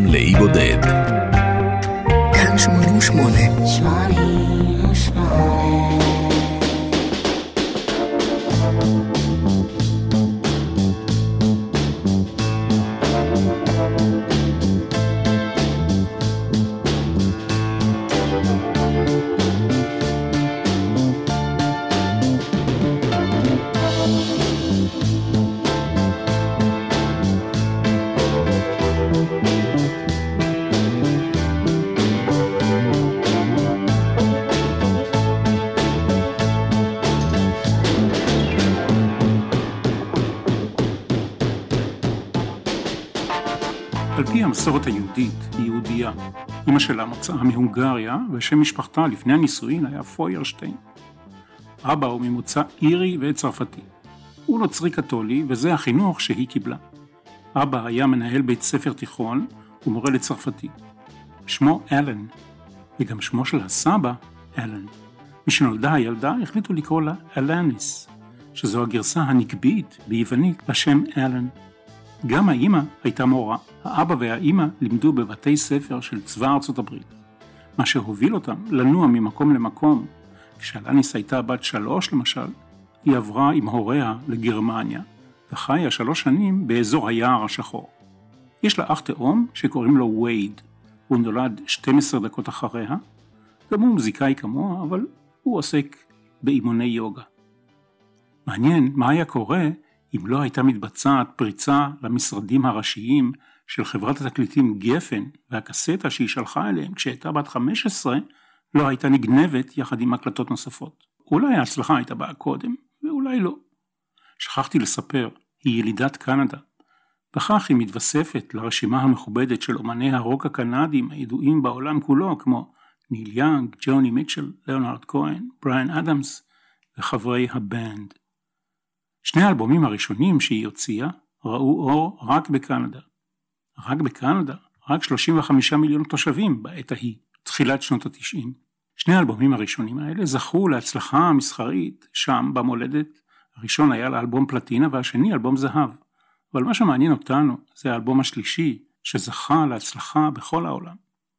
לאי בודד. כאן 88. על פי המסורת היהודית, היא יהודייה. אמא שלה מוצאה מהונגריה, ושם משפחתה לפני הנישואין היה פוירשטיין. אבא הוא ממוצא אירי וצרפתי. הוא נוצרי קתולי, וזה החינוך שהיא קיבלה. אבא היה מנהל בית ספר תיכון ומורה לצרפתי. שמו אלן, וגם שמו של הסבא אלן. משנולדה הילדה החליטו לקרוא לה אלניס, שזו הגרסה הנקבית ביוונית לשם אלן. גם האמא הייתה מורה. האבא והאמא לימדו בבתי ספר של צבא ארצות הברית, מה שהוביל אותם לנוע ממקום למקום. כשאלניס הייתה בת 3 למשל, היא עברה עם הוריה לגרמניה, וחיה 3 שנים באזור היער השחור. יש לה אח תאום שקוראים לו וייד. הוא נולד 12 דקות אחריה, גם הוא מוזיקאי כמוה, אבל הוא עוסק באימוני יוגה. מעניין מה היה קורה אם לא הייתה מתבצעת פריצה למשרדים הראשיים של חברת התקליטים גפן, והקסטה שהיא שלחה אליהם כשהייתה בת 15 לא הייתה נגנבת יחד עם הקלטות נוספות. אולי ההצלחה הייתה באה קודם, ואולי לא. שכחתי לספר, היא ילידת קנדה. בכך היא מתווספת לרשימה המכובדת של אומני הרוק הקנדים הידועים בעולם כולו, כמו ניל יאנג, ג'וני מיטשל, ליאונרד כהן, בריאן אדמס וחברי הבנד. 2 האלבומים הראשונים שהיא הוציאה ראו אור רק בקנדה. רק בקנדה, רק 35 מיליון תושבים בעת ההיא, תחילת שנות ה-90. 2 האלבומים הראשונים האלה זכו להצלחה המסחרית שם במולדת. הראשון היה לאלבום פלטינה והשני אלבום זהב. אבל מה שמעניין אותנו זה האלבום השלישי שזכה להצלחה בכל העולם.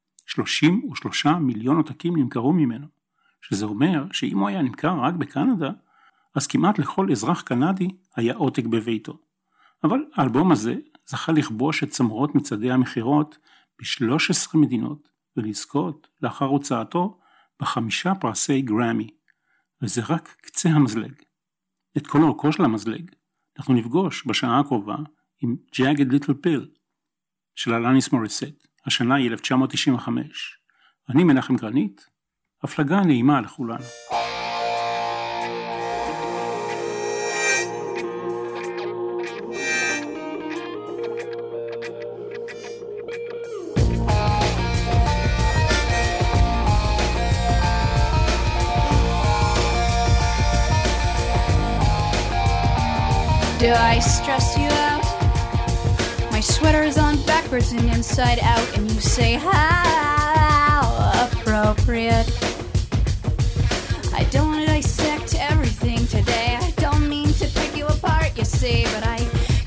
33 מיליון עותקים נמכרו ממנו, שזה אומר שאם הוא היה נמכר רק בקנדה, אז כמעט לכל אזרח קנדי היה עותק בביתו. אבל האלבום הזה זכה לכבוש את צמרות מצעדי המחירות ב-13 מדינות, ולזכות לאחר הוצאתו ב5 פרסי גרמי. וזה רק קצה המזלג. את כל אורכו של המזלג אנחנו נפגוש בשעה הקרובה עם Jagged Little Pill של אלניס מוריסט. השנה היא 1995. אני מנחם גרנית, הפלגה נעימה לכולנו. Do I stress you out? My sweater is on backwards and inside out, and you say how appropriate. I don't want to dissect everything today. I don't mean to pick you apart, you see, but I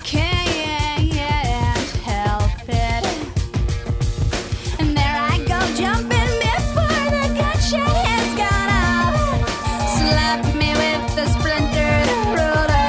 can't help it. And there I go jumping before the gunshot has gone off. Slap me with the splintered ruler.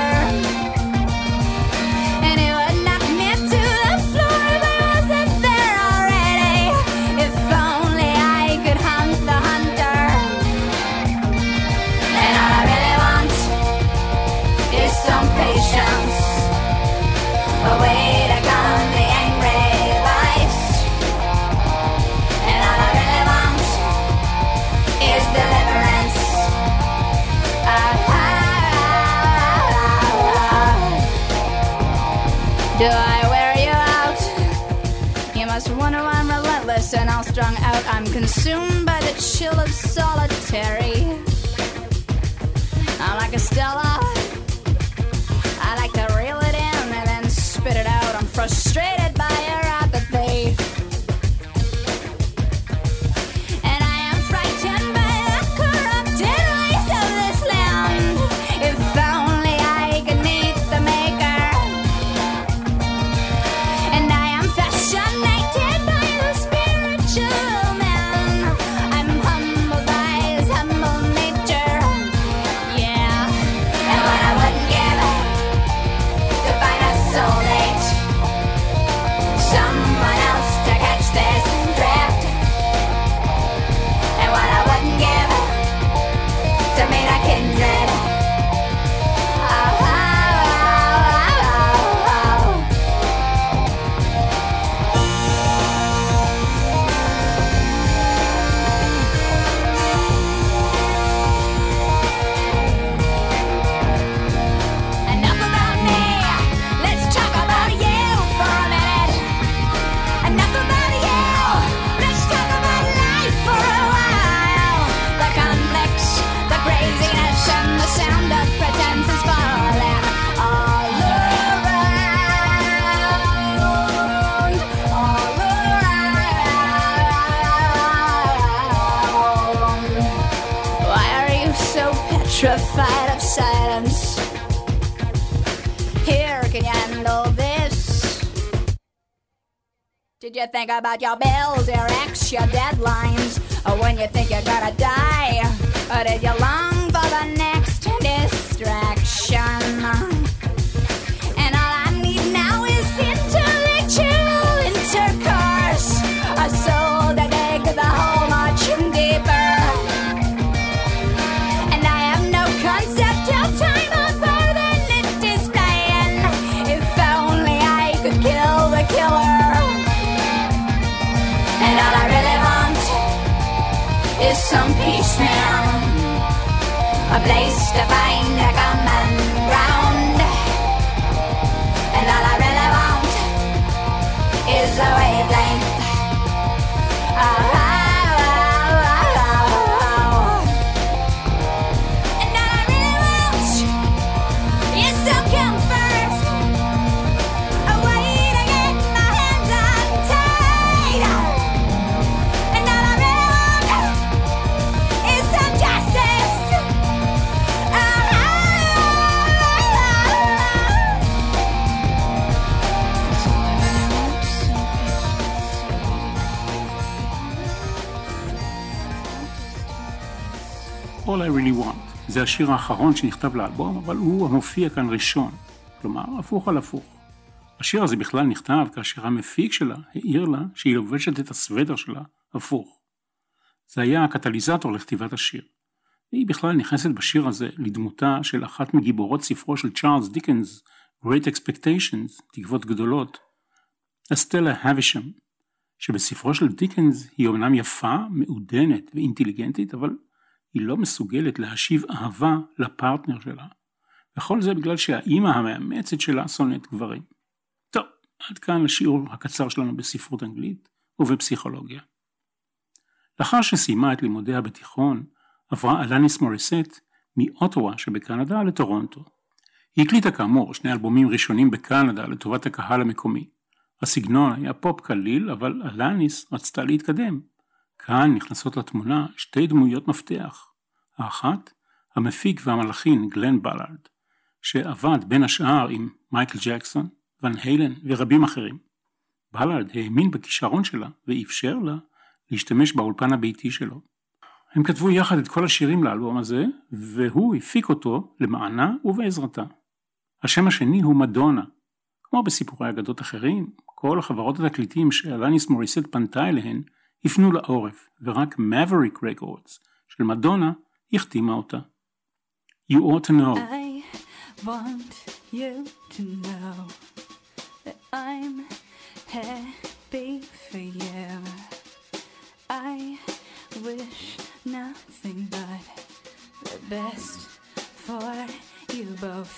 Do I wear you out? You must wonder why I'm relentless and all strung out. I'm consumed by the chill of solitary. I'm like a Stella. I like to reel it in and then spit it out. I'm frustrated by your apathy. And I am frightened by the corrupted ways of this land. If only I could meet the maker. And I am fascinated by Did you think about your bills, your ex, your deadlines? Or when you think you're gonna die? Or did you long for the next distraction? And all I need now is intellectual intercourse, a soul to dig the hole much deeper. And I have no concept of time or further than it is flying. If only I could kill the killer. And all I really want is some peace now, a place to find a common ground. And all I really want is a wavelength. And all I really want is some comfort, a way to get my hands untied. And all I really want is some justice. All I Really Want. זה השיר האחרון שנכתב לאלבום, אבל הוא המופיע כאן ראשון. כלומר, הפוך על הפוך. השיר הזה בכלל נכתב כאשר המפיק שלה העיר לה שהיא לובשת את הסוודר שלה הפוך. זה היה הקטליזטור לכתיבת השיר. והיא בכלל נכנסת בשיר הזה לדמותה של אחת מגיבורות ספרו של צ'ארלס דיקנס, Great Expectations, תקוות גדולות, אסטלה האבישם, שבספרו של דיקנס היא אומנם יפה, מעודנת ואינטליגנטית, אבל היא לא מסוגלת להשיב אהבה לפרטנר שלה. וכל זה בגלל שהאימא המאמצת שלה שונאת גברים. טוב, עד כאן השיעור הקצר שלנו בספרות אנגלית ובפסיכולוגיה. לאחר שסיימה את לימודיה בתיכון, עברה אלניס מוריסט מאוטווה שבקנדה לטורונטו. היא הקליטה כאמור 2 אלבומים ראשונים בקנדה לטובת הקהל המקומי. הסגנון היה פופ קליל, אבל אלניס רצתה להתקדם. כאן נכנסות לתמונה 2 דמויות מפתח. האחת, המפיק והמלחין גלן בלארד, שעבד בין השאר עם מייקל ג'קסון, ון הילן ורבים אחרים. בלארד האמין בכישרון שלה ואפשר לה להשתמש באולפן הביתי שלו. הם כתבו יחד את כל השירים לאלבום הזה, והוא הפיק אותו למענה ובעזרתה. השם השני הוא מדונה. כמו בסיפורי אגדות אחרים, כל החברות התקליטים שאלניס מוריסט פנתה אליהן הפנו לעורף, ורק Maverick Records של מדונה החתימה אותה. You ought to know. I want you to know that I'm happy for you. I wish nothing but the best for you both.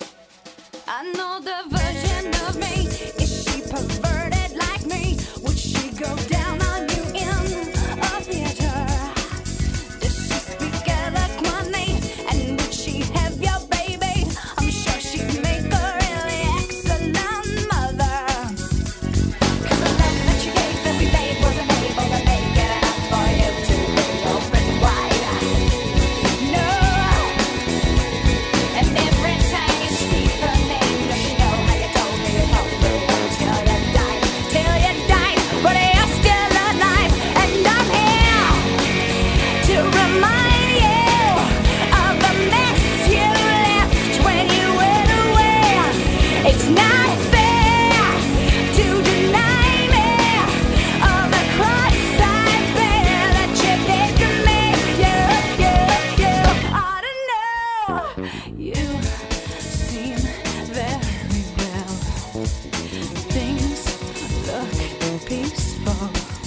I know the version of me, is she perverted like me? Would she go down on you in a theater? Does she speak eloquently? And would she have your baby? I'm sure she'd make a really excellent mother. 'Cause the love that you gave that we made wasn't able to make it enough for you to be open wide. No. And every time you speak her name, does she know how you told me you helped me till you died? Till you died, but you're still alive. And I'm here to remind you of the mess you left when you went away. It's not fair to deny me of the cross I bear that you did to me. You ought to know. You seem very well. Things look peaceful.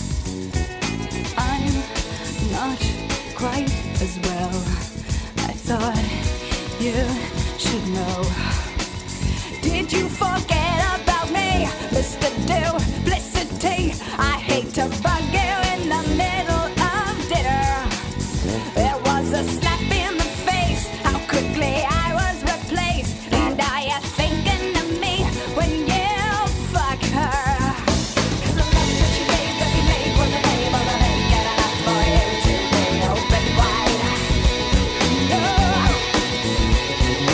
I'm not quite as well. I thought you should know. Did you forget about me, Mr. Duplicity? I hate to bug you in the middle of dinner. There was a slap in the face, how quickly I was replaced. And are you thinking of me when you fuck her? 'Cause the love that you gave that we made wasn't able to make it enough for you to be open wide. No.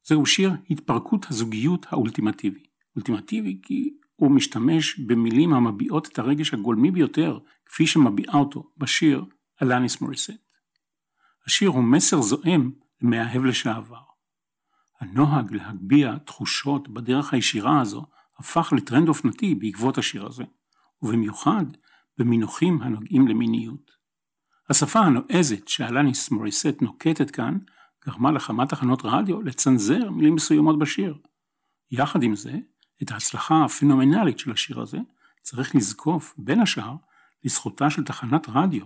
זהו שיר התפרקות הזוגיות האולטימטיבי. אולטימטיבי כי הוא משתמש במילים המביעות את הרגש הגולמי ביותר, כפי שמביעה אותו בשיר אלניס מוריסט. השיר הוא מסר זועם למאהב לשעבר. הנוהג להגביה תחושות בדרך הישירה הזו הפך לטרנד אופנתי בעקבות השיר הזה, ובמיוחד במינוחים הנוגעים למיניות. השפה הנועזת שאלניס מוריסט נוקטת כאן גרמה לכמה תחנות רדיו לצנזר מילים מסוימות בשיר. יחד עם זה, את ההצלחה הפנומנלית של השיר הזה צריך לזקוף בין השאר לזכותה של תחנת רדיו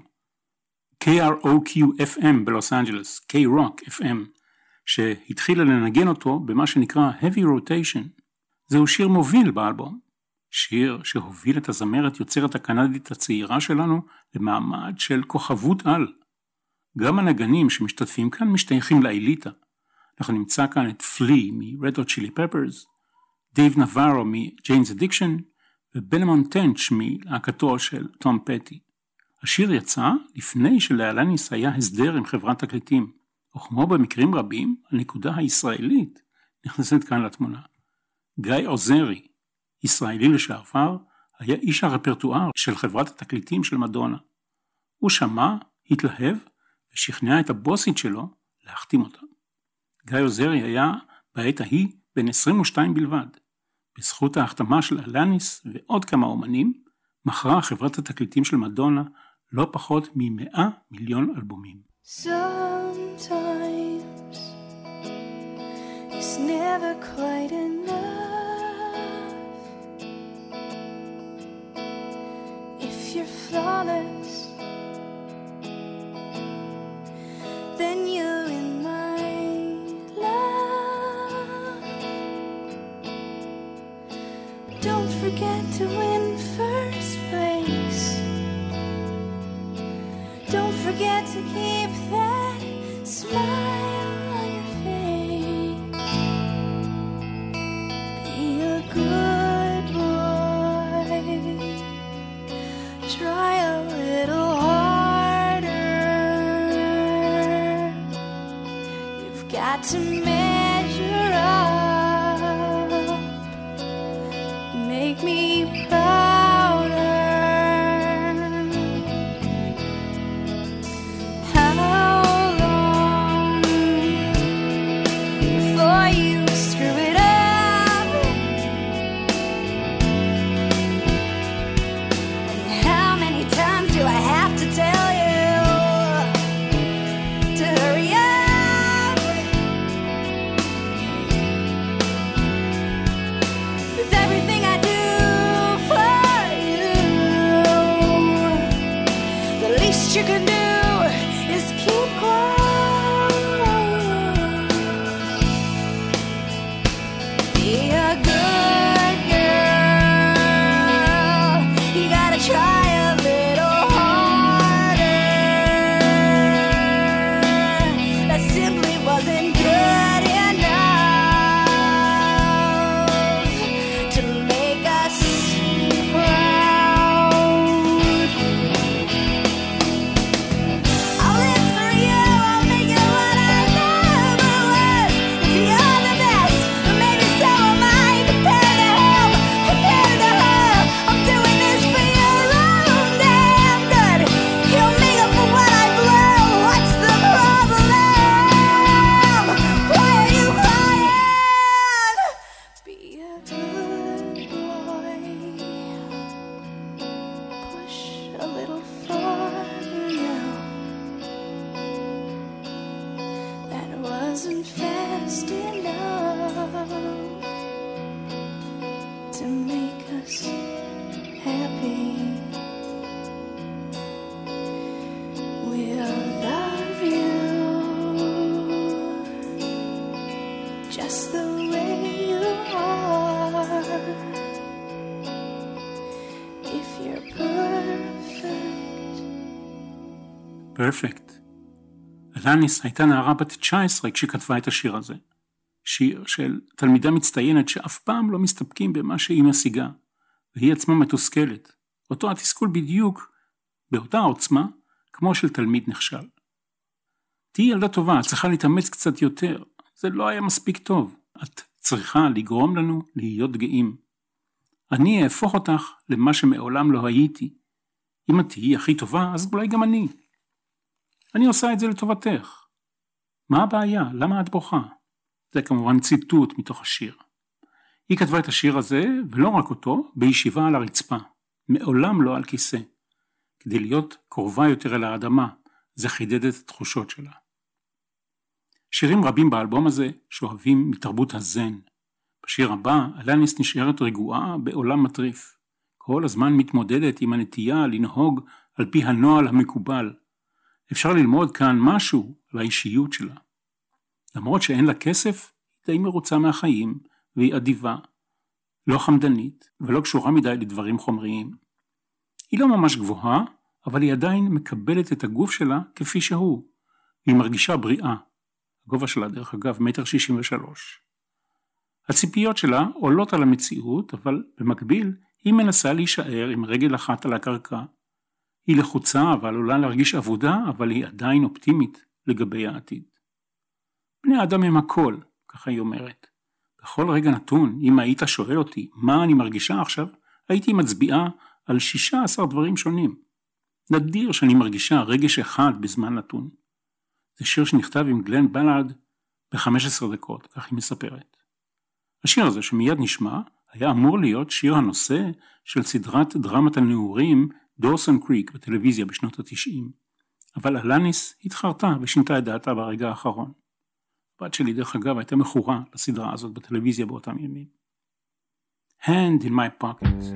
KROQ-FM בלוס אנג'לס, K-Rock-FM, שהתחילה לנגן אותו במה שנקרא Heavy Rotation. זהו שיר מוביל באלבום, שיר שהוביל את הזמרת יוצרת הקנדית הצעירה שלנו למעמד של כוכבות על. גם הנגנים שמשתתפים כאן משתייכים לאליטה. אנחנו נמצא כאן את פלי מ-Red Hot Chili Peppers, דייב נבארו מ-Jane's Addiction, ובנמון טנץ' מלהקתו של תום פטי. השיר יצא לפני שלאלניס היה הסדר עם חברת תקליטים, וכמו במקרים רבים, הנקודה הישראלית נכנסת כאן לתמונה. גיא עוזרי, ישראלי לשעבר, היה איש הרפרטואר של חברת התקליטים של מדונה. הוא שמע, התלהב, ושכנע את הבוסית שלו להחתים אותה. גיא עוזרי היה בעת ההיא בן 22 בלבד. בזכות ההחתמה של אלניס ועוד כמה אומנים, מכרה חברת התקליטים של מדונה לא פחות מ100 מיליון אלבומים. Sometimes it's never quite enough. If you're flawless, then you're in my love. Don't forget to win first place. Don't forget to keep that smile on your face. Be a good boy. Try a little harder. You've got to measure up. Make me prouder. You can do is keep quiet. Be a good girl. You gotta try a little harder. That simply wasn't good enough to make us proud. I'll live for you, I'll make you what I never was. If you're the best, then maybe so am I. Compared to him, compared to her, I'm doing this for your own damn good. You'll make up for what I blew. What's the problem? Why are you crying? Be a good boy. Push a little farther now. That wasn't fast enough to make us happy. We'll love you just the way you are. If you're perfect. פרפקט. אלניס הייתה נערה בת 19 כשכתבה את השיר הזה. שיר של תלמידה מצטיינת שאף פעם לא מסתפקים במה שהיא משיגה, והיא עצמה מתוסכלת. אותו התסכול בדיוק באותה עוצמה כמו של תלמיד נכשל. תהי ילדה טובה, צריכה להתאמץ קצת יותר. זה לא היה מספיק טוב. את צריכה לגרום לנו להיות גאים. אני אהפוך אותך למה שמעולם לא הייתי. אם את תהיי הכי טובה, אז אולי גם אני. אני עושה את זה לטובתך. מה הבעיה? למה את בוכה? זה כמובן ציטוט מתוך השיר. היא כתבה את השיר הזה, ולא רק אותו, בישיבה על הרצפה. מעולם לא על כיסא. כדי להיות קרובה יותר אל האדמה, זה חידד את התחושות שלה. שירים רבים באלבום הזה שואבים מתרבות הזן. בשיר הבא, אלניס נשארת רגועה בעולם מטריף. כל הזמן מתמודדת עם הנטייה לנהוג על פי הנועל המקובל. אפשר ללמוד כאן משהו על האישיות שלה. למרות שאין לה כסף, היא די מרוצה מהחיים, והיא אדיבה, לא חמדנית, ולא קשורה מדי לדברים חומריים. היא לא ממש גבוהה, אבל היא עדיין מקבלת את הגוף שלה כפי שהוא. היא מרגישה בריאה. הגובה שלה דרך אגב 1.63 מטר. הציפיות שלה עולות על המציאות, אבל במקביל היא מנסה להישאר עם רגל אחת על הקרקע. היא לחוצה ועלולה להרגיש עבודה, אבל היא עדיין אופטימית לגבי העתיד. בני האדם הם הכל, ככה היא אומרת. בכל רגע נתון, אם היית שואל אותי מה אני מרגישה עכשיו, הייתי מצביעה על 16 דברים שונים. נדיר שאני מרגישה רגש אחד בזמן נתון. זה שיר שנכתב עם גלן בלארד ב-15 דקות, כך היא מספרת. השיר הזה שמיד נשמע, היה אמור להיות שיר הנושא של סדרת דרמת הנעורים דורסון קריק בטלוויזיה בשנות ה-90. אבל אלניס התחרתה ושינתה את דעתה ברגע האחרון. הבת שלי דרך אגב הייתה מכורה לסדרה הזאת בטלוויזיה באותם ימים. Hand in my pocket.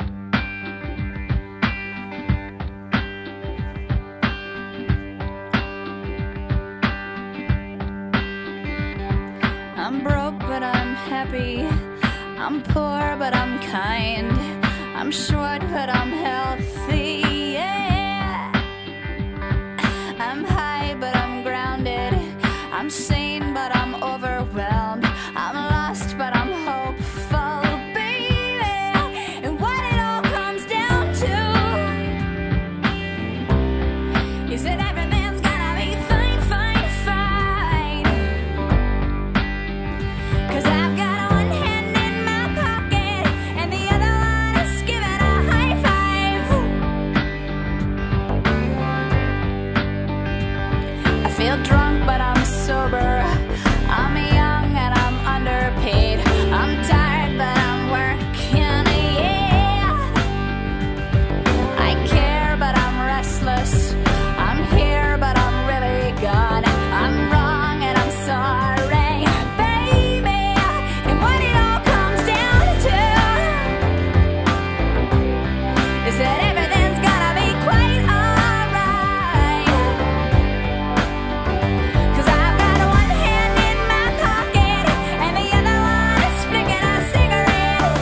I'm broke but I'm happy. I'm poor but I'm kind. I'm short but I'm healthy. Yeah. I'm high but I'm grounded. I'm sane but I'm overwhelmed. I'm lost but I'm hopeful, baby. And what it all comes down to is that everything's gonna be fine, fine, fine. 'Cause I've got one hand in my pocket and the other one is giving a high five. I feel drunk but I'm sober. I'm young and I'm underpaid. I'm tired but I'm working, yeah. I care but I'm restless. I'm here but I'm really gone. I'm wrong and I'm sorry, baby. And what it all comes down to is that everything's gonna be quite alright. 'Cause I've got one hand in my pocket and the other one is flicking a cigarette.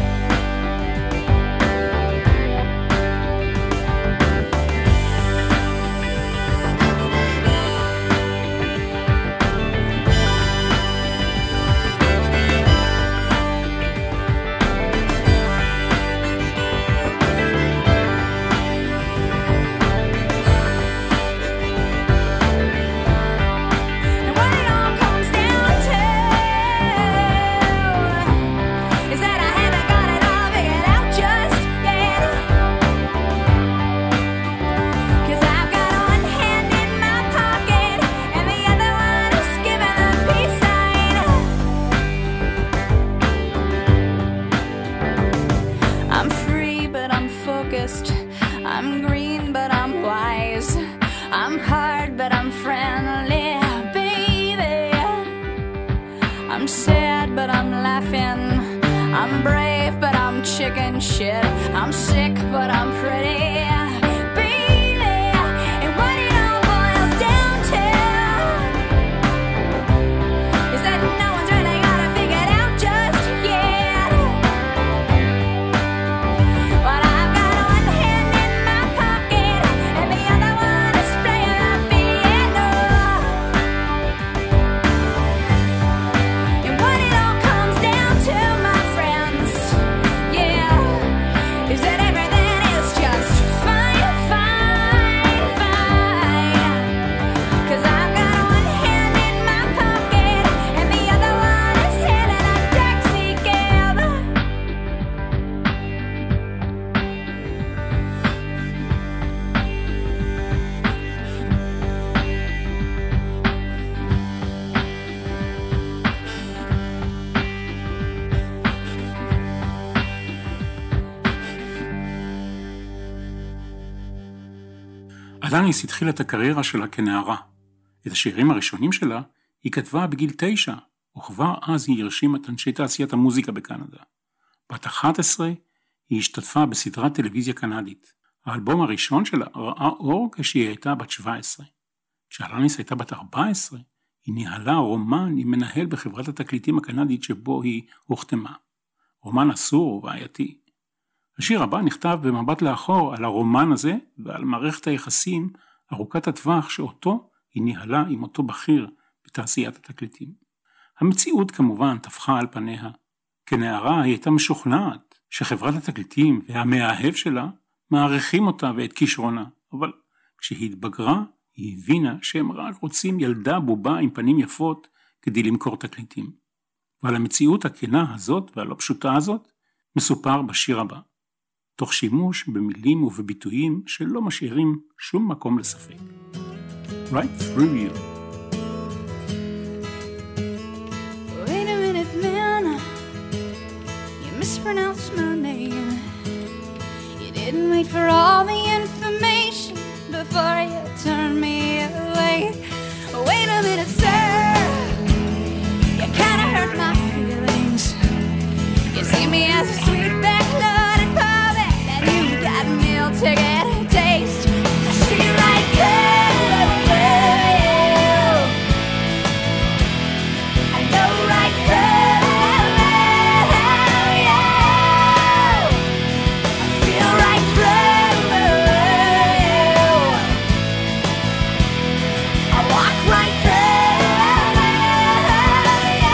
And what it all comes down to is that I haven't got it all figured out just yet. 'Cause I've got one hand in my pocket and the other one is giving a peace sign. I'm free but I'm focused. I'm green but I'm wise. I'm hard but I'm friendly, baby. I'm sad but I'm laughing. I'm brave but I'm chicken shit. I'm sick but I'm pretty, baby. And what it all boils down to is that no one's really got it figured out just yet. But I've got one hand in my pocket and the other one is playing the piano. And what it all comes down to, my friends, yeah, is that everything is just fine, אלניס התחילה את הקריירה שלה כנערה. את השירים הראשונים שלה היא כתבה בגיל 9, וכבר אז היא הרשימה את אנשי תעשיית המוזיקה בקנדה. בת 11 היא השתתפה בסדרת טלוויזיה קנדית. האלבום הראשון שלה ראה אור כשהיא הייתה בת 17. כשאלניס הייתה בת 14, היא ניהלה רומן עם מנהל בחברת התקליטים הקנדית שבו היא הוחתמה. רומן אסור ובעייתי. השיר הבא נכתב במבט לאחור על הרומן הזה ועל מערכת היחסים ארוכת הטווח שאותו היא ניהלה עם אותו בכיר בתעשיית התקליטים. המציאות כמובן טפחה על פניה. כנערה היא הייתה משוכנעת שחברת התקליטים והמאהב שלה מעריכים אותה ואת כישרונה, אבל כשהיא התבגרה היא הבינה שהם רק רוצים ילדה בובה עם פנים יפות כדי למכור תקליטים. ועל המציאות הכנה הזאת והלא פשוטה הזאת מסופר בשיר הבא, תוך שימוש במילים ובביטויים שלא משאירים שום מקום לספק. Right through you. Wait a minute, man, you mispronounced my name. You didn't wait for all the information before you turned me away. Wait a minute, sir, you kinda hurt my feelings. You see me as a sweet back-loaded puppet, and you've got a meal ticket taste. I see right through you. I know right through you. I feel right through you. I walk right through you.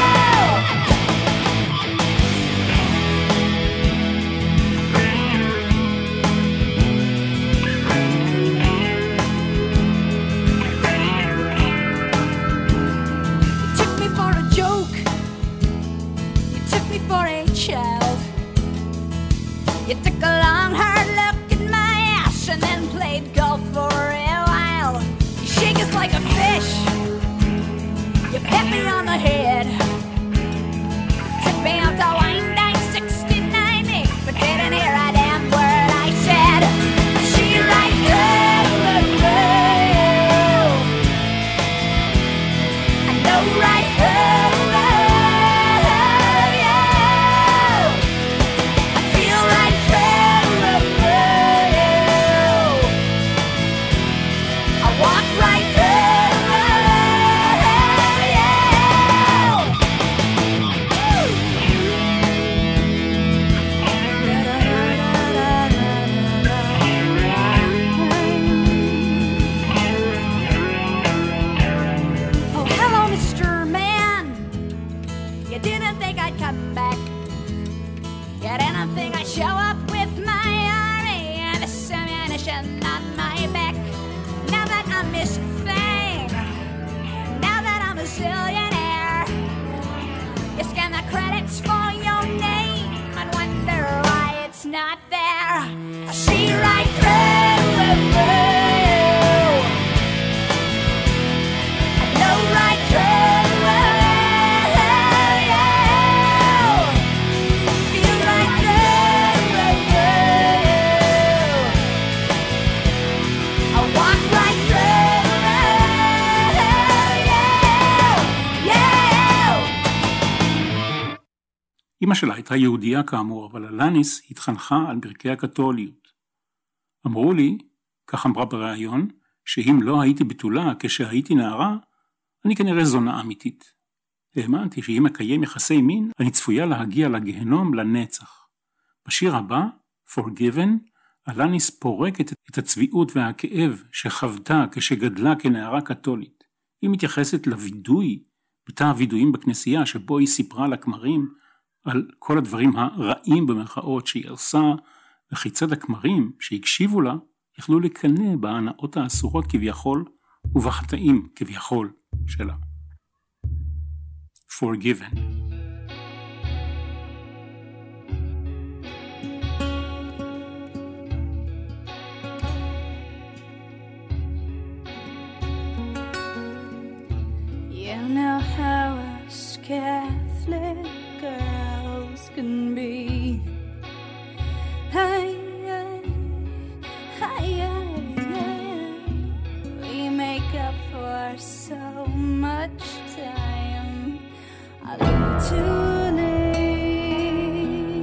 You took me for a joke. You took me for a child. You took a long hard look at my ass and then played golf for a while. You shake us like a fish. You pat me on the head. Took me out to wine night 69, but didn't hear a damn word I said. She right through you. I know right through you. I feel right through you. I walk right through you. Oh, hello, Mr. Man. You didn't think I'd come back. You didn't think I'd show up with my army and this ammunition on my back. Now that I'm Miss Fame, now that I'm a zillionaire, you scan the credits for your name and wonder why it's not there. I see right through you. I know right through you. Feel right through you. I walk right through you. אמא שלה הייתה יהודייה כאמור, אבל אלניס התחנכה על ברכי הקתוליות. אמרו לי, כך אמרה בריאיון, שאם לא הייתי בתולה כשהייתי נערה, אני כנראה זונה אמיתית. האמנתי שאם אקיים יחסי מין, אני צפויה להגיע לגהנום לנצח. בשיר הבא, Forgiven, אלניס פורקת את הצביעות והכאב שחוותה כשגדלה כנערה קתולית. היא מתייחסת לוידוי, בתא הוידויים בכנסייה שבו היא סיפרה לכמרים על כל הדברים הרעים במרכאות שהיא עושה, וכיצד הכמרים שהקשיבו לה יכלו לקנא בהנאות האסורות כביכול ובחטאים כביכול שלה. Forgiven. You know how us Catholic girls can be. Hey, hey, hey, hey, hey. much time, a little too late.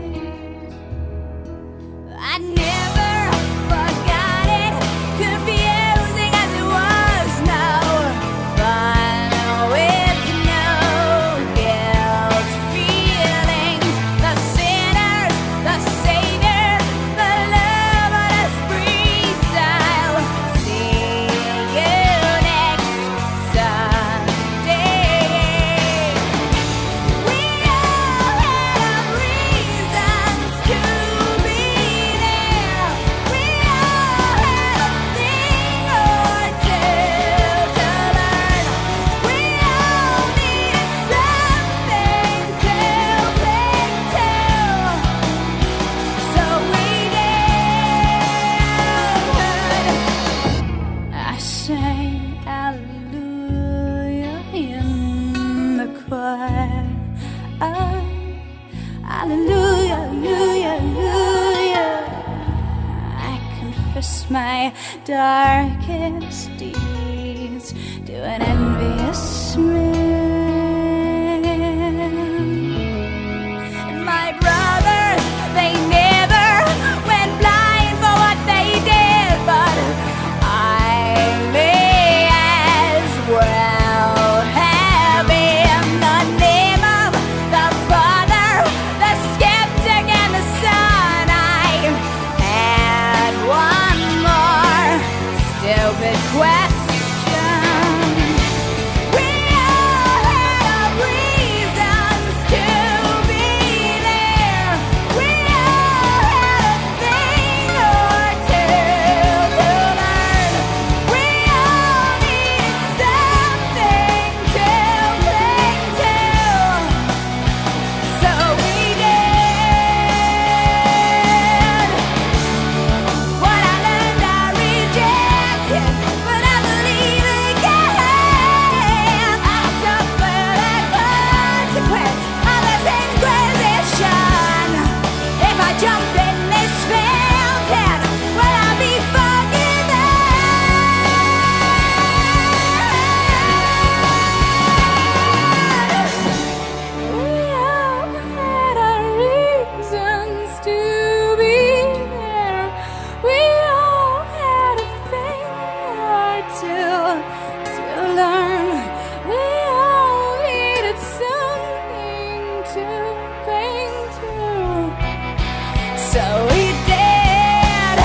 I never forgot it, confusing as it was now. Fun with no guilt feelings, the sinners, the saviors, the loveless freestyle. See you next Sunday. We all have reasons to be there. We all had a thing or two to learn. We all needed something to cling to. So we did. I sang hallelujah in the choir. Hallelujah, hallelujah, hallelujah. I confess my darkest deeds to an envious man. And my brothers, they never went blind for what they did, but I may as well have in the name of the Father, the skeptic and the Son. I had one more stupid question. We all had our reasons to be there. We all had a thing or two to learn. We all needed something to cling to. So we did. What I learned I rejected, but I believe again. I suffer the consequence of this inquisition. If I jump in this fountain, will I be forgiven? We all had our reasons to be there. We all had a thing or two to learn. We all needed something to cling to. So we did.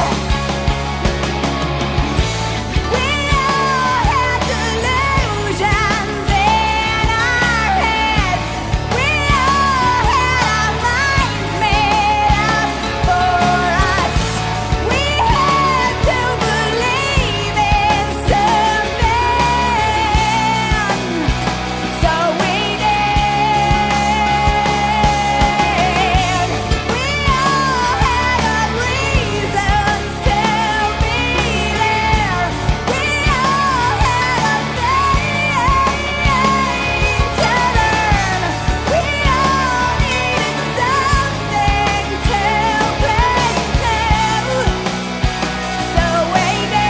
We all had delusions in our heads. We all had our minds made up for us. We had to believe in something. So we did. We all had our reasons to be there. We all had a thing to learn. We all needed something to cling to. So we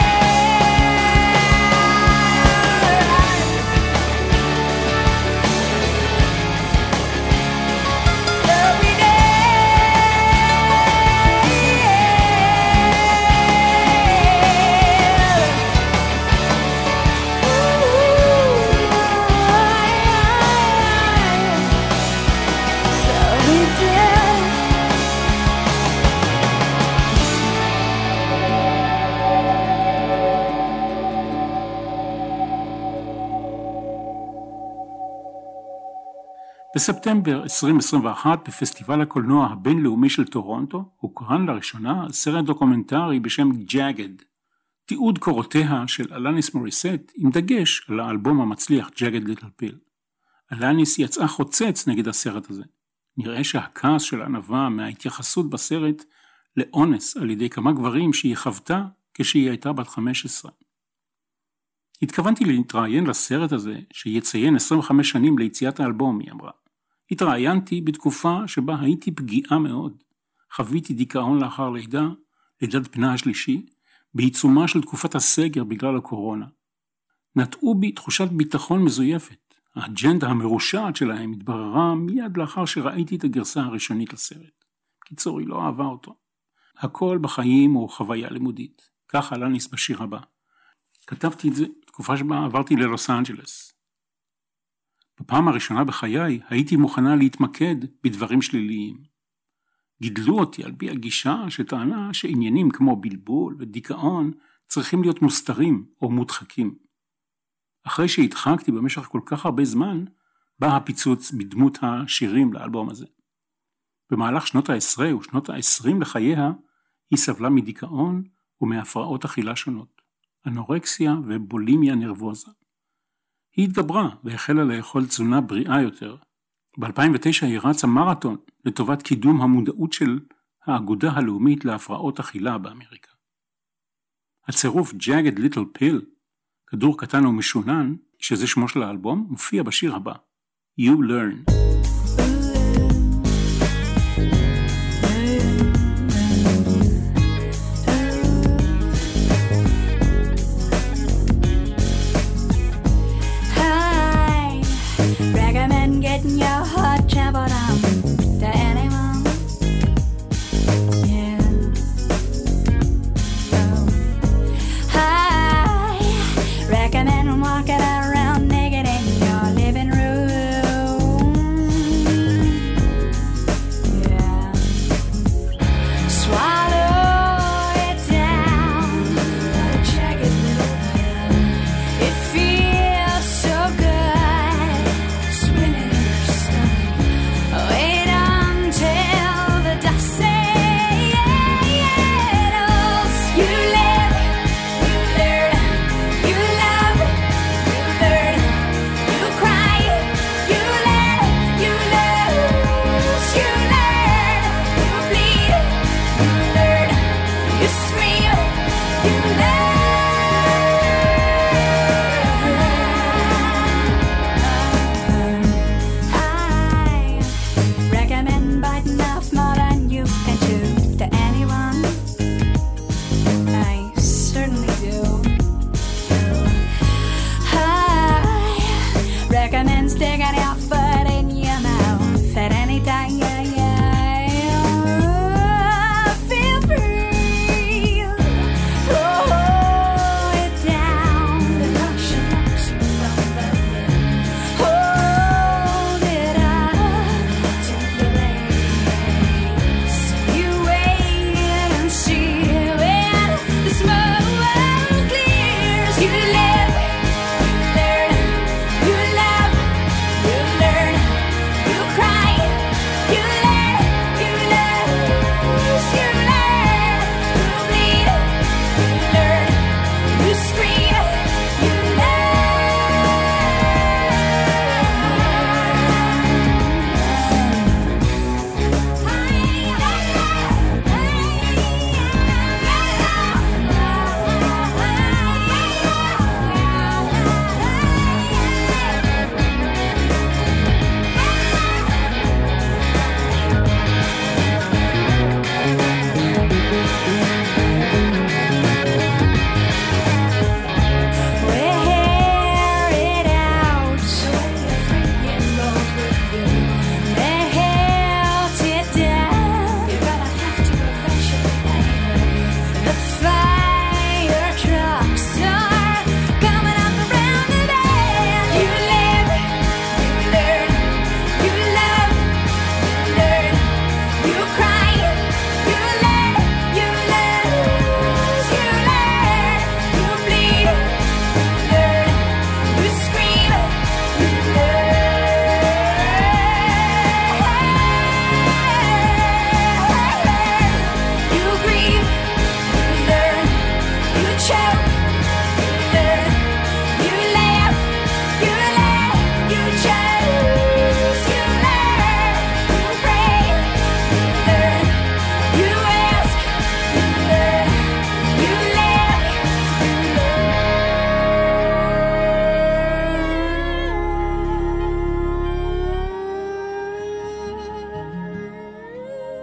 בספטמבר 2021 בפסטיבל הקולנוע הבינלאומי של טורונטו הוקרן לראשונה סרט דוקומנטרי בשם Jagged, תיעוד קורותיה של אלניס מוריסט עם דגש על האלבום המצליח Jagged Little Pill. אלניס יצאה חוצץ נגד הסרט הזה. נראה שהכעס של ענווה מההתייחסות בסרט לאונס על ידי כמה גברים שהיא חוותה כשהיא הייתה בת 15. התכוונתי להתראיין לסרט הזה שיציין 25 שנים ליציאת האלבום, היא אמרה. התראיינתי בתקופה שבה הייתי פגיעה מאוד. חוויתי דיכאון לאחר לידה, לידת בנה השלישי, בעיצומה של תקופת הסגר בגלל הקורונה. נטעו בי תחושת ביטחון מזויפת. האג'נדה המרושעת שלהם התבררה מיד לאחר שראיתי את הגרסה הראשונית לסרט. קיצור, היא לא אהבה אותו. הכל בחיים הוא חוויה לימודית. כך אלניס בשיר הבא. כתבתי את זה תקופה שבה עברתי ללוס אנג'לס. בפעם הראשונה בחיי הייתי מוכנה להתמקד בדברים שליליים. גידלו אותי על פי הגישה שטענה שעניינים כמו בלבול ודיכאון צריכים להיות מוסתרים או מודחקים. אחרי שהדחקתי במשך כל כך הרבה זמן, בא הפיצוץ בדמות השירים לאלבום הזה. במהלך שנות ה-10 ושנות ה-20 לחייה, היא סבלה מדיכאון ומהפרעות אכילה שונות, אנורקסיה ובולימיה נרבוזה. היא התגברה והחלה לאכול תזונה בריאה יותר. ב-2009 היא רצה מרתון לטובת קידום המודעות של האגודה הלאומית להפרעות אכילה באמריקה. הצירוף Jagged Little Pill, כדור קטן ומשונן, שזה שמו של האלבום, מופיע בשיר הבא, You Learn. Getting your heart trampled on to anyone. Yeah. Oh. I recommend walking around naked in your living room. Yeah. Swallow it down. What a jagged little pill. It feels so good. Wait until the dust settles. You live, you learn, you love, you learn, you cry, you let, you lose, you learn, you bleed, you learn, you scream, you learn. Recommend biting off more than you can chew to anyone. I certainly do. I recommend sticking your foot in your mouth at any time. Feel free. Throw it down. The lotion knocks you from the lid. Hold it up to the blaze. You wait and see when the smoke clears. You live, you learn, you love, you learn, you cry, you let, you lose, you learn, you bleed, you learn, you scream, you wear it out. Melt it down. You're gonna have to eventually. The fire trucks are coming up around the bend. You live, you learn, you love, you learn, you cry, you let, you lose, you learn, you bleed, you learn, you scream, you learn, you grieve, you learn, you choke, you learn, you laugh, you laugh, you choose, you learn, you pray, you learn, you ask, you learn, you laugh, you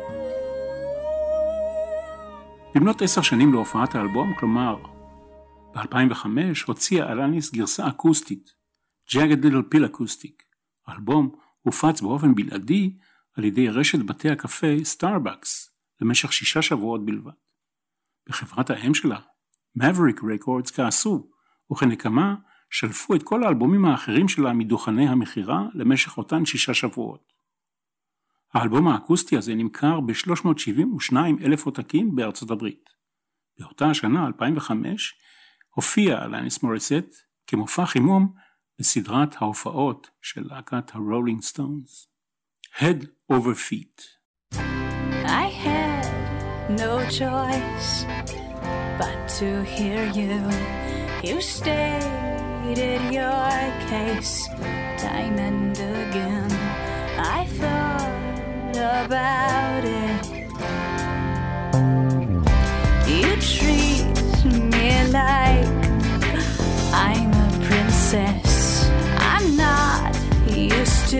במלאת 10 שנים להופעת האלבום, כלומר ב-2005 הוציאה אלניס גרסה אקוסטית, Jagged Little Pill Acoustic. האלבום הופץ באופן בלעדי על ידי רשת בתי הקפה סטארבקס למשך 6 שבועות בלבד. בחברת האם שלה, Maverick Records, כעסו, וכנקמה שלפו את כל האלבומים האחרים שלה מדוכני המחירה למשך אותן 6 שבועות. האלבום האקוסטי הזה נמכר ב-372,000 עותקים בארצות הברית. באותה השנה, 2005, הופיע אלניס מוריסט כמופע חימום בסדרת ההופעות של להקת הרולינג סטונס. Head Over Feet. I had no choice but to hear you. You stated your case time and again. I thought about it. You treat me like I'm a princess. I'm not used to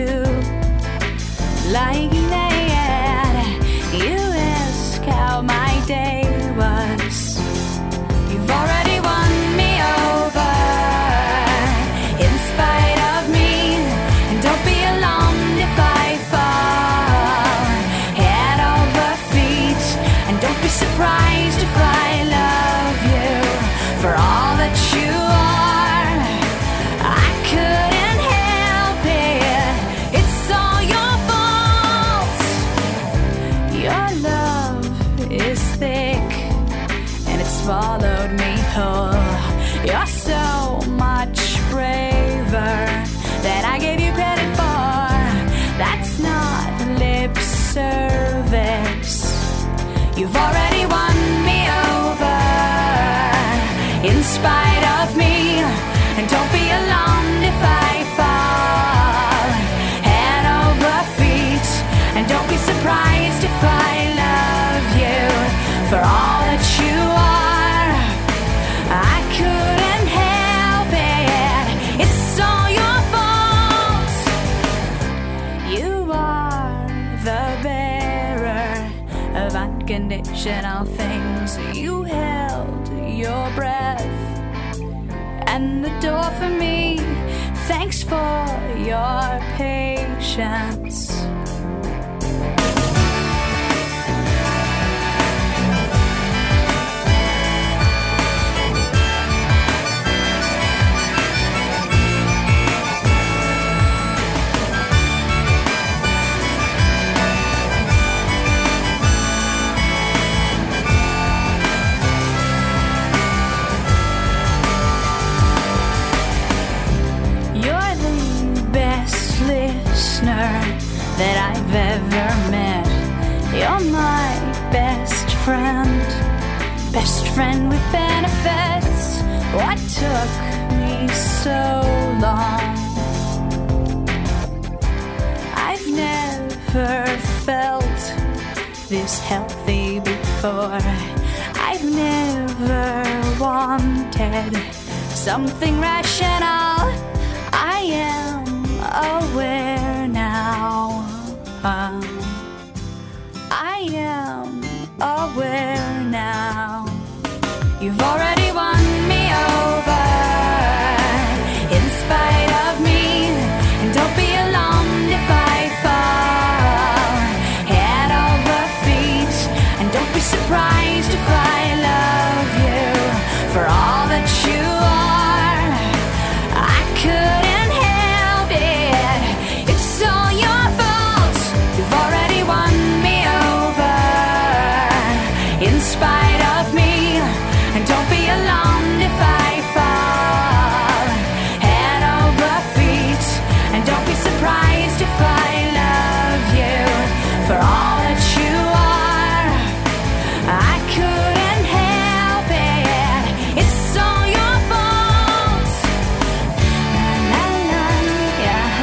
lying there. You ask how my day was. You've already won me over in spite of me. And don't be alarmed if I fall head over feet. And don't be surprised if I love you for all that you are. I couldn't help it. It's all your fault. Your love is thick and it swallowed me whole. You're so much braver than I gave you credit for. That's not lip service. You've already won me over in spite of me. And don't be alarmed if I fall head over feet. And don't be surprised if I love you for all that you are. I couldn't help it. It's all your fault. You are the bearer of unconditional things. You held your breath and the door for me. Thanks for your patience. That I've ever met. You're my best friend with benefits. What took me so long? I've never felt this healthy before. I've never wanted something rational. I am aware now. I am aware now. You've already won me over in spite of me. And don't be alarmed if I fall head over feet. And don't be surprised if I love you for all that you are. I couldn't help it. It's all your fault. You've already won me over in spite of me. And don't be alarmed if I fall head over feet. And don't be surprised if I love you for all that you are. I couldn't help it. It's all your fault. La la la, yeah,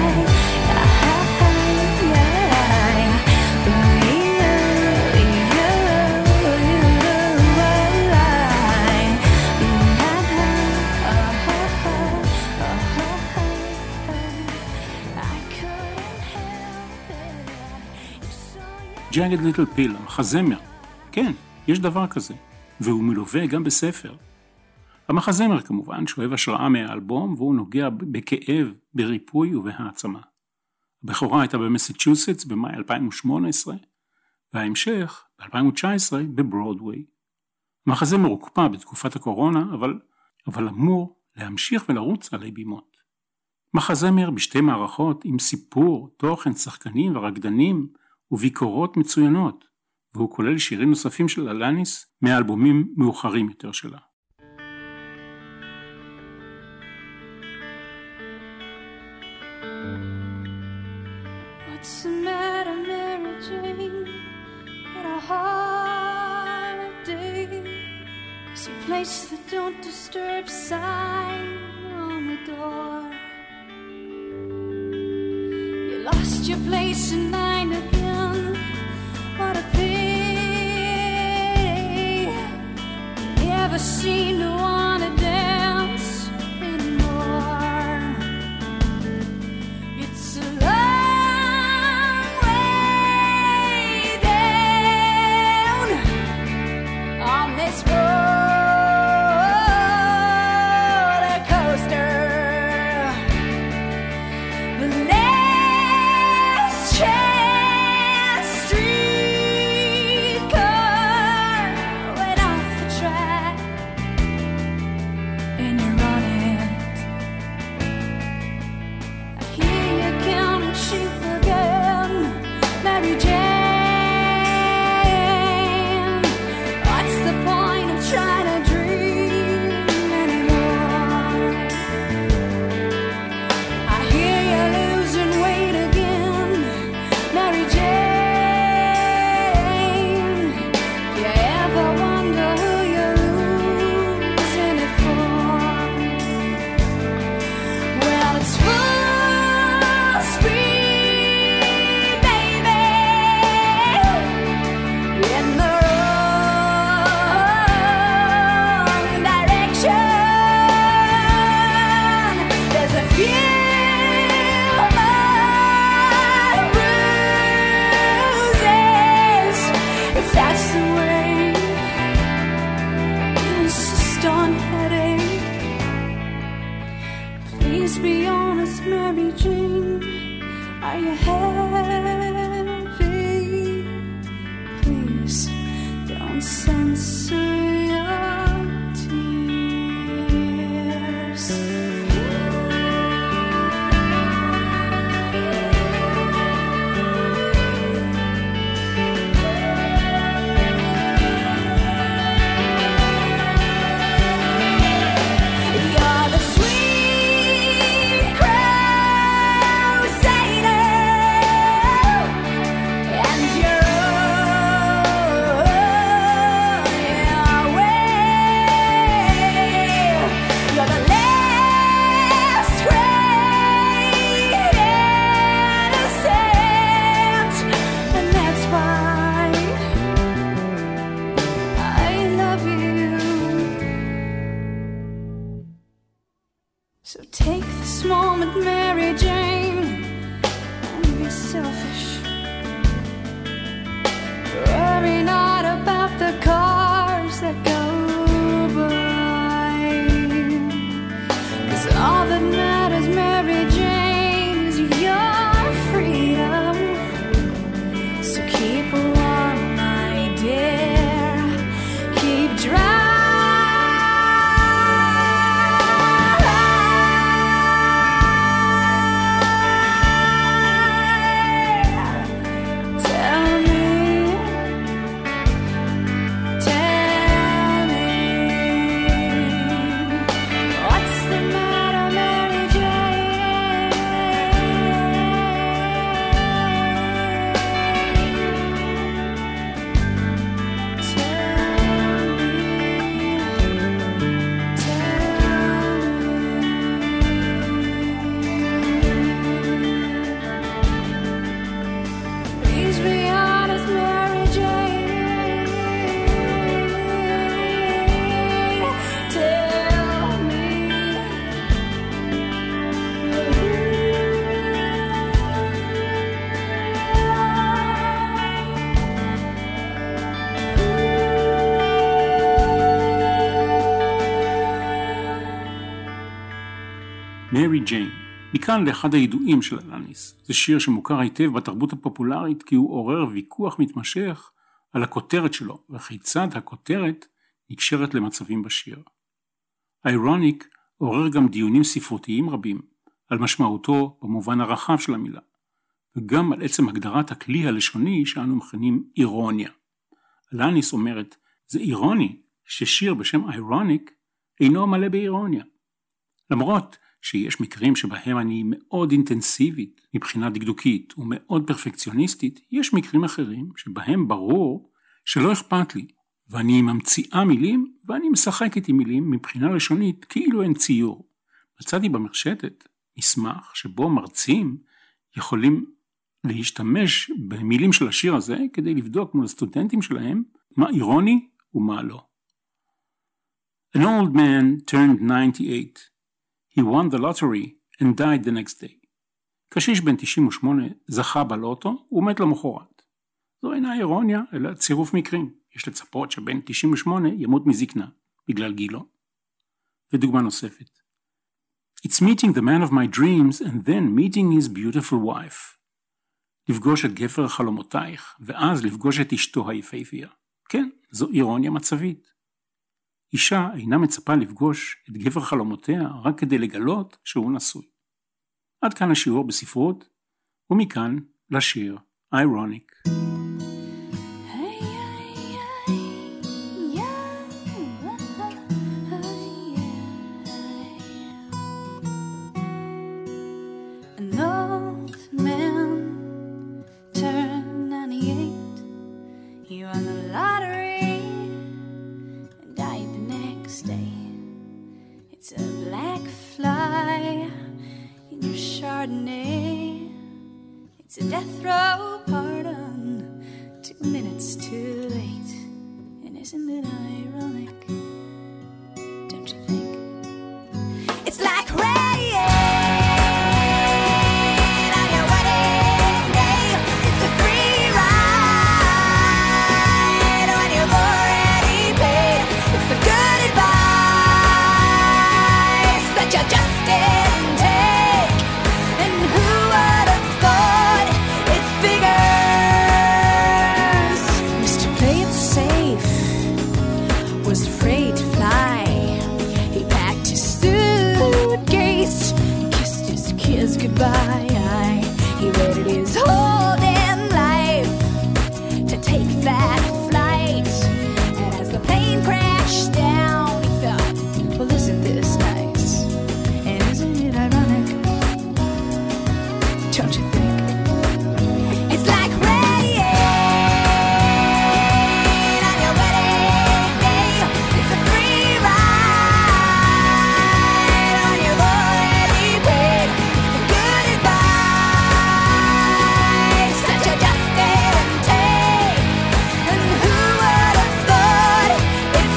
Jagged Little Pill, המחזמר. כן, יש דבר כזה, והוא מלווה גם בספר. המחזמר כמובן שואב השראה מהאלבום, והוא נוגע בכאב, בריפוי ובהעצמה. הבכורה הייתה במסצ'וסטס במאי 2018, וההמשך ב-2019 בברודווי. המחזמר הוקפא בתקופת הקורונה, אבל אמור להמשיך ולרוץ עלי בימות. מחזמר בשתי מערכות עם סיפור, תוכן, שחקנים ורקדנים וביקורות מצוינות, והוא כולל שירים נוספים של אלניס מאלבומים מאוחרים יותר שלה. What's the matter, Mary Jane? Had a hard day. Is your place the don't disturb sign on the door? You lost your place in line again. What a pity. You never seem to want to dance anymore. It's a long way down on this roller coaster. The next chance streetcar went off the track, and you're on it. I hear you counting sheep again, Mary Jane. What's the point of trying to dream anymore? I hear you losing weight again, Mary Jane. Do you ever wonder who you're losing it for? Well, it's full speed, baby, in the wrong direction. There's a few more bruises, if that's the way you insist on heading. Please be honest, Mary Jane. Are you heavy? Please don't censor your tears. You're the sweet crusader, and you're on your way. You're the last great innocent, and that's why I love you. So take this moment, Mary Jane, and be selfish. Worry not about the cars that go by, 'cause all that matters, Mary Jane, is your freedom. So keep warm, my dear. Keep dry. מרי ג'יין. מכאן לאחד הידועים של אלניס. זה שיר שמוכר היטב בתרבות הפופולרית כי הוא עורר ויכוח מתמשך על הכותרת שלו וכיצד הכותרת נקשרת למצבים בשיר. איירוניק עורר גם דיונים ספרותיים רבים על משמעותו במובן הרחב של המילה, וגם על עצם הגדרת הכלי הלשוני שאנו מכנים אירוניה. אלניס אומרת, זה אירוני ששיר בשם איירוניק אינו מלא באירוניה. למרות שיש מקרים שבהם אני מאוד אינטנסיבית מבחינה דקדוקית ומאוד פרפקציוניסטית, יש מקרים אחרים שבהם ברור שלא אכפת לי, ואני ממציאה מילים ואני משחקת עם מילים מבחינה לשונית כאילו אין ציור. מצאתי במרשתת מסמך שבו מרצים יכולים להשתמש במילים של השיר הזה כדי לבדוק מול הסטודנטים שלהם מה אירוני ומה לא. An old man turned 98. He won the lottery and died the next day. קשיש בן 98 זכה בלוטו ומת למחרת. זו אינה אירוניה אלא צירוף מקרים. יש לצפות שבן 98 ימות מזקנה בגלל גילו. ודוגמה נוספת. It's meeting the man of my dreams and then meeting his beautiful wife. לפגוש את גבר חלומותייך ואז לפגוש את אשתו היפהפייה. כן, זו אירוניה מצבית. אישה אינה מצפה לפגוש את גבר חלומותיה רק כדי לגלות שהוא נשוי. עד כאן השיעור בספרות, ומכאן לשיר איירוניק. It's a death row pardon, 2 minutes too late. And isn't it ironic? Don't you think? It's like rain on your wedding day. It's a free ride when you've already paid. It's the good advice that you just didn't take. And who would have thought it figures? Mr. Play It Safe was afraid to fly. He packed his suitcase, kissed his kids goodbye. He waited his whole damn life to take that flight. And as the plane crashed down, he thought, well, isn't this nice? And isn't it ironic? Don't you think? It's like rain on your wedding day. It's a free ride when you've already paid. It's the good advice that you just didn't take. And who would have thought it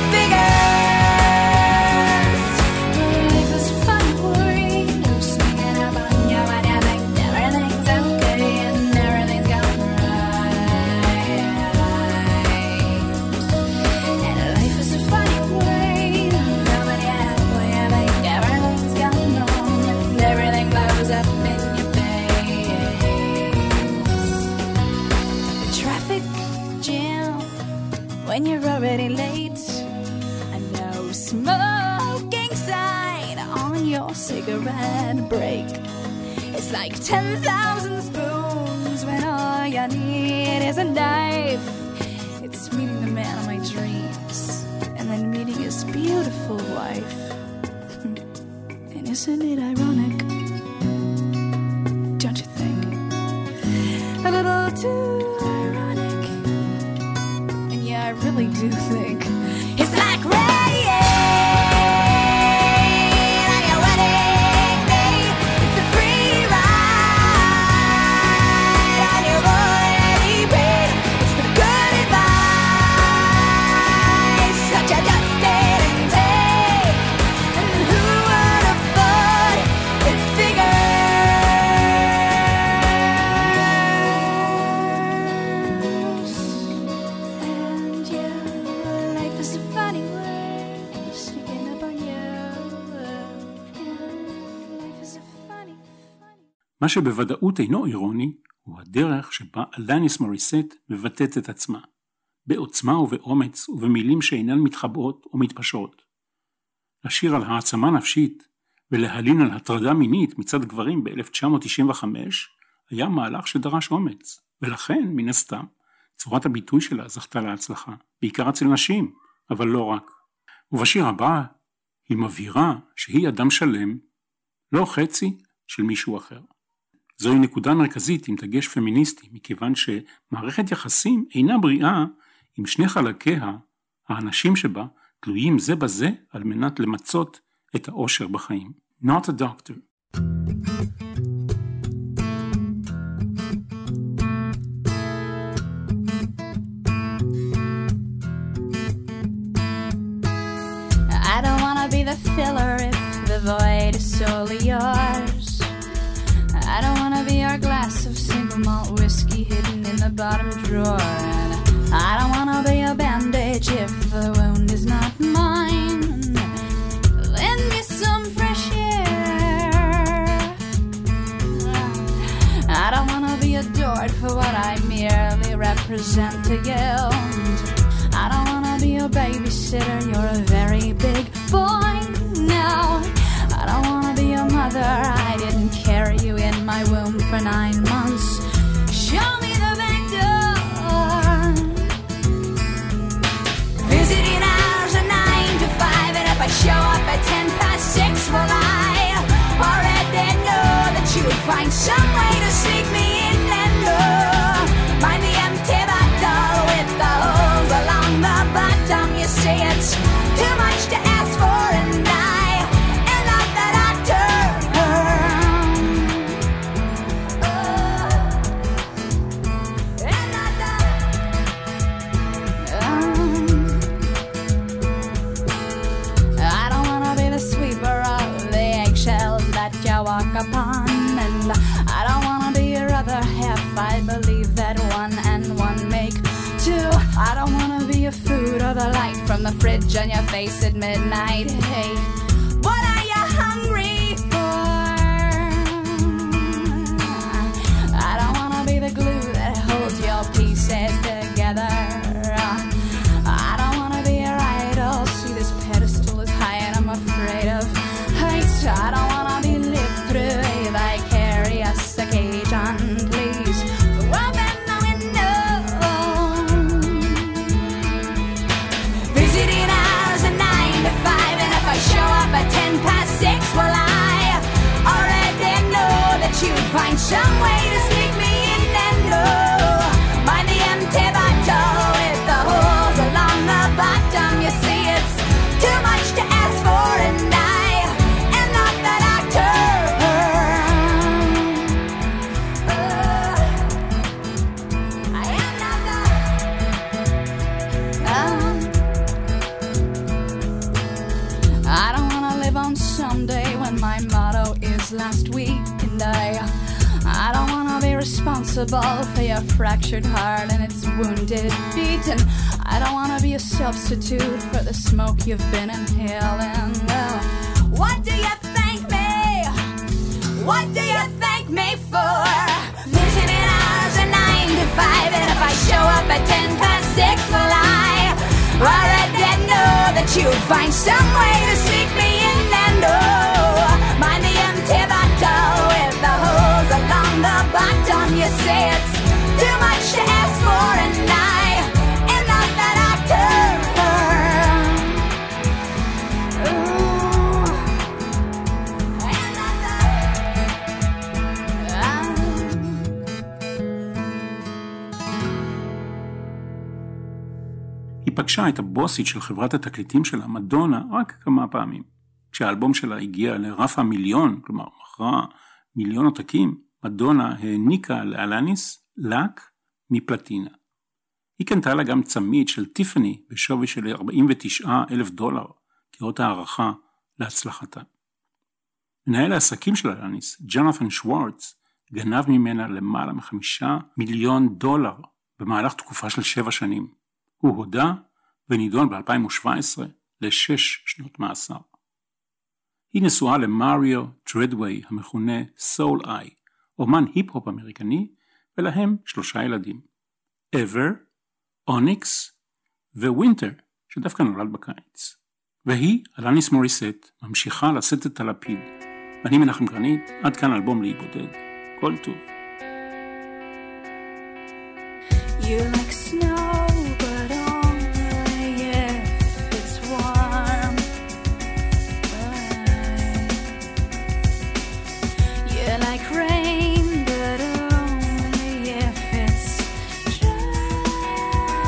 figures? Life is fun for you, sneaking up on you when you think everything's okay and everything's going right. And life is a funny way, coming out when you think everything's going wrong and everything blows up in your face. The traffic jam when you're already late. A no smoking sign on your cigarette break. It's like 10,000 spoons when all you need is a knife. It's meeting the man of my dreams and then meeting his beautiful wife. And isn't it ironic? Don't you think? A little too ironic. And yeah, I really do think it's like rain on your wedding day. It's a free ride when you've already paid. It's the good advice that you just didn't take. And who would have thought it figures? And yeah, life is a funny way. מה שבוודאות אינו אירוני, הוא הדרך שבה אלניס מוריסט מבטאת את עצמה, בעוצמה ובאומץ ובמילים שאינן מתחבאות או מתפשרות. לשיר על העצמה נפשית ולהלין על הטרדה מינית מצד גברים ב-1995 היה מהלך שדרש אומץ, ולכן, מן הסתם, צורת הביטוי שלה זכתה להצלחה, בעיקר אצל נשים, אבל לא רק. ובשיר הבא היא מבהירה שהיא אדם שלם, לא חצי של מישהו אחר. זוהי נקודה מרכזית עם דגש פמיניסטי, מכיוון שמערכת יחסים אינה בריאה עם שני חלקיה, האנשים שבה, תלויים זה בזה על מנת למצות את האושר בחיים. Not a doctor. I don't wanna be the filler if the void is solely yours. I don't wanna be our glass of single malt whiskey hidden in the bottom drawer. And I don't wanna be a bandage if the wound is not mine. Lend me some fresh air. I don't wanna be adored for what I merely represent to you. I don't wanna be your babysitter, you're a very big boy now. I don't wanna be your mother, I didn't carry you in my womb for 9 months. Show me the back door. Visiting hours are 9 to 5, and if I show up at 6:10, well, I already know that you would find some way to sneak me in and mind the empty bottle with the holes along the bottom. You say it's too much to ask for, and I am not the doctor. I don't wanna be the sweeper of the eggshells that you walk upon, and I don't wanna be your other half. I believe that 1 and 1 make 2. I don't wanna be your food or the light from the fridge on your face at midnight. Hey, what are you hungry for? I don't wanna be the glue that holds your pieces together. I don't wanna be your idol. See, this pedestal is high and I'm afraid of heights. I don't wanna be lived through a vicarious occasion. Please open the window. Visiting hours are 9 to 5, and if I show up at 6:10, well, I already know that you'd find some way to sneak me in and mind the empty bottle with the holes along the bottom. You see, it's too much to ask for, and I am not the doctor. I am not the I don't wanna live on someday when my motto is last week, and I don't wanna be responsible for your fractured heart and its wounded beat, and I don't wanna be a substitute for the smoke you've been inhaling. Well, what do you thank me? What do you thank me for? Visiting hours are 9 to 5, and if I show up at 6:10, well, I already know that you'd find some way to sneak me in and mind the empty bottle with the holes along the bottom. You say it's too much to ask for, and I am not the doctor. I am not the היא פגשה את הבוסית של חברת התקליטים שלה, מדונה, רק כמה פעמים. כשהאלבום שלה הגיע לרף המיליון, כלומר מכרה 1,000,000 עותקים, מדונה העניקה לאלניס לק מפלטינה. היא קנתה לה גם צמיד של טיפני בשווי של $49,000 כאות הערכה להצלחתה. מנהל העסקים של אלניס, ג'ונתן שוורץ, גנב ממנה למעלה $5 מיליון במהלך תקופה של 7 שנים. הוא הודע ונידון ב-2017 ל6 שנות מאסר. היא נשואה למריו טרדווי המכונה סול איי, אומן היפ-הופ אמריקני, ולהם 3 ילדים. Ever, Onyx ווינטר, שדווקא נולד בקיץ. והיא, אלניס מוריסט, ממשיכה לשאת את הלפיד. ואני מנחם גרנית, עד כאן אלבום לי בודד. כל טוב. You like snow, but only if it's warm. You like rain, but only if it's dry.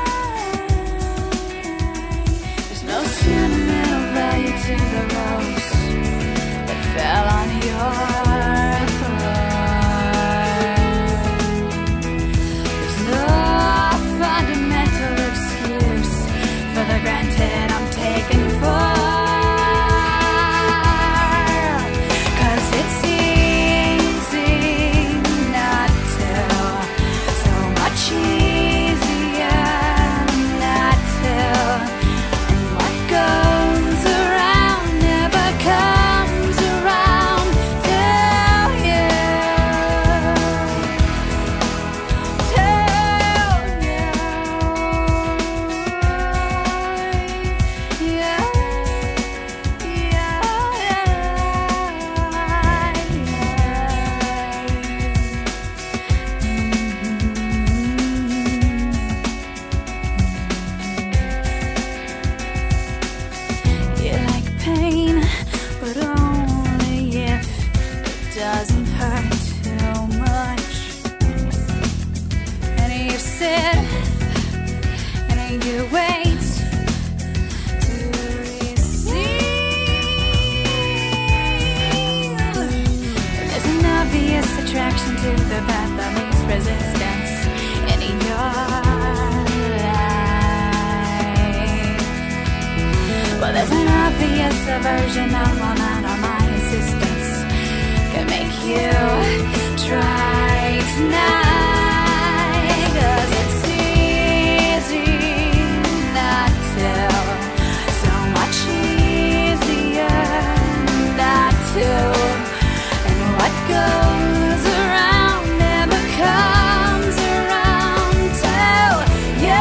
There's no sentimental value to the rose that fell on your granted I'm taken for, 'cause it's easy not to, so much easier not to, and what goes around never comes around till you, doesn't hurt too much, and you sit and you wait to receive. There's an obvious attraction to the path that leads resistance in your life. Well, there's an obvious aversion of my insistence can make you try tonight, 'cause it's easy not to, so much easier not to, and what goes around never comes around till you.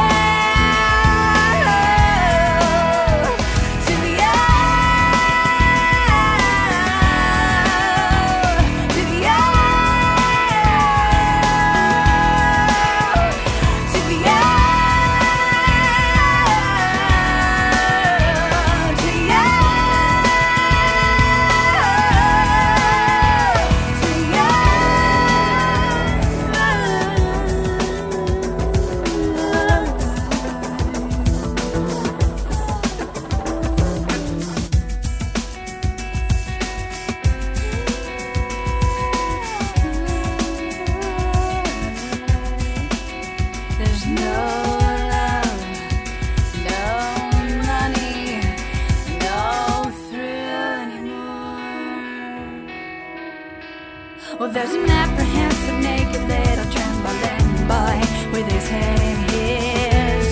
Well, there's an apprehensive naked little trembling boy with his head in his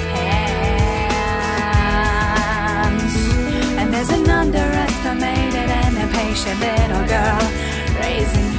hands, and there's an underestimated and impatient little girl raising